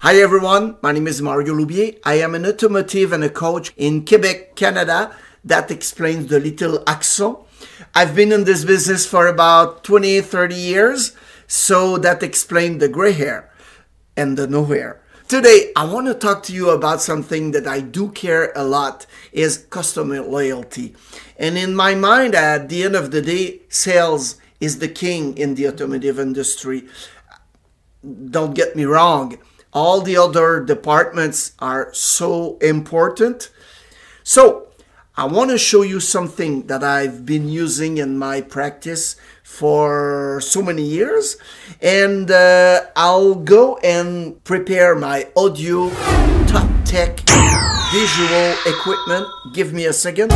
Hi everyone, my name is Mario Loubier. I am an automotive and a coach in Quebec, Canada. That explains the little accent. I've been in this business for about 20, 30 years, so that explains the gray hair and the no hair. Today, I want to talk to you about something that I do care a lot, is customer loyalty. And in my mind, at the end of the day, sales is the king in the automotive industry. Don't get me wrong. All the other departments are so important. So I want to show you something that I've been using in my practice for so many years. And I'll go and prepare my audio top tech visual equipment. Give me a second.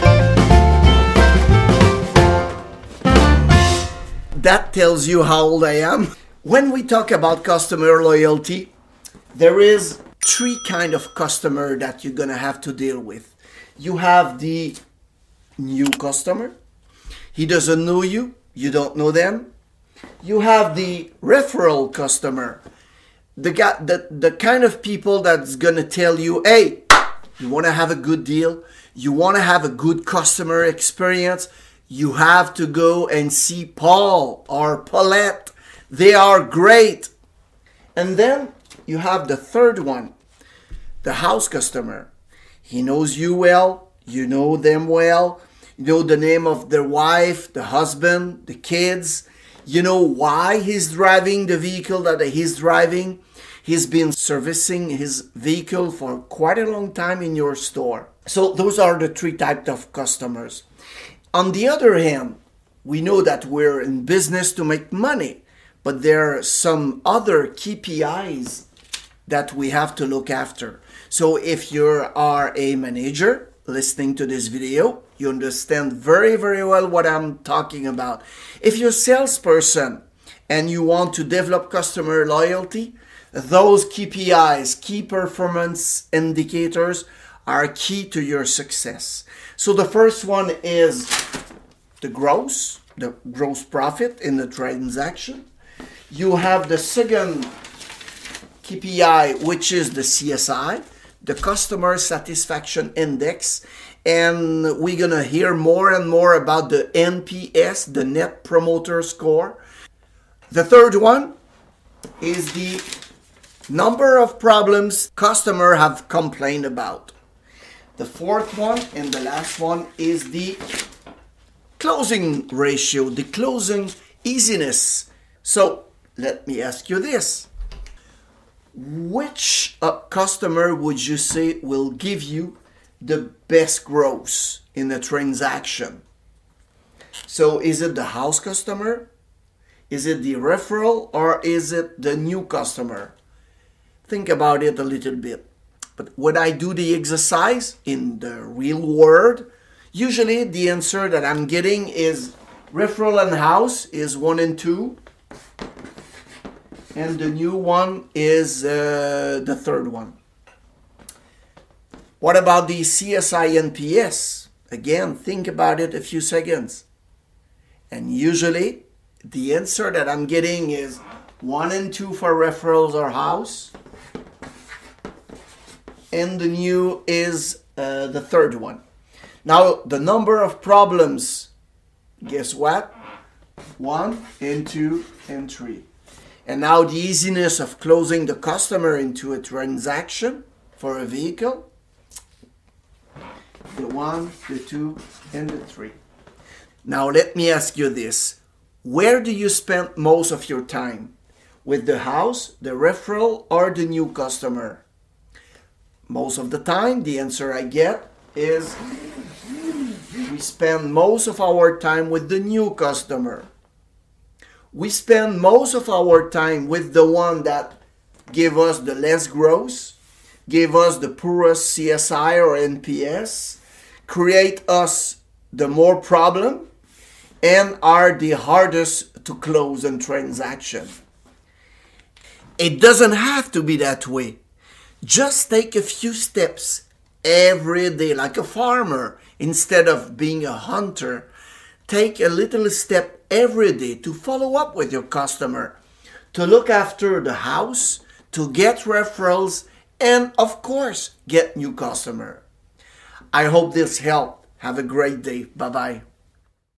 That tells you how old I am. When we talk about customer loyalty, there is three kinds of customer that you're going to have to deal with. You have the new customer. He doesn't know you. You don't know them. You have the referral customer. The kind of people that's going to tell you, hey, you want to have a good deal. You want to have a good customer experience. You have to go and see Paul or Paulette. They are great. And then you have the third one, the house customer. He knows you well, you know them well, you know the name of their wife, the husband, the kids. You know why he's driving the vehicle that he's driving. He's been servicing his vehicle for quite a long time in your store. So those are the three types of customers. On the other hand, we know that we're in business to make money, but there are some other KPIs that we have to look after. So if you are a manager listening to this video, you understand very, very well what I'm talking about. If you're a salesperson and you want to develop customer loyalty, those KPIs, key performance indicators, are key to your success. So the first one is the gross profit in the transaction. You have the second KPI, which is the CSI, the Customer Satisfaction Index. And we're going to hear more and more about the NPS, the Net Promoter Score. The third one is the number of problems customers have complained about. The fourth one and the last one is the closing ratio, the closing easiness. So let me ask you this. Which customer would you say will give you the best growth in a transaction? So is it the house customer? Is it the referral? Or is it the new customer? Think about it a little bit. But when I do the exercise in the real world, usually the answer that I'm getting is referral and house is 1 and 2. And the new one is the third one. What about the CSI NPS? Again, think about it a few seconds. And usually, the answer that I'm getting is 1 and 2 for referrals or house. And the new is the third one. Now, the number of problems, guess what? 1 and 2 and 3. And now the easiness of closing the customer into a transaction for a vehicle. The 1, the 2, and the 3. Now let me ask you this. Where do you spend most of your time? With the house, the referral, or the new customer? Most of the time, the answer I get is we spend most of our time with the new customer. We spend most of our time with the one that gave us the less growth, gave us the poorest CSI or NPS, create us the more problem, and are the hardest to close in transaction. It doesn't have to be that way. Just take a few steps every day, like a farmer, instead of being a hunter. Take a little step every day to follow up with your customer, to look after the house, to get referrals, and of course, get new customer. I hope this helped. Have a great day. Bye-bye.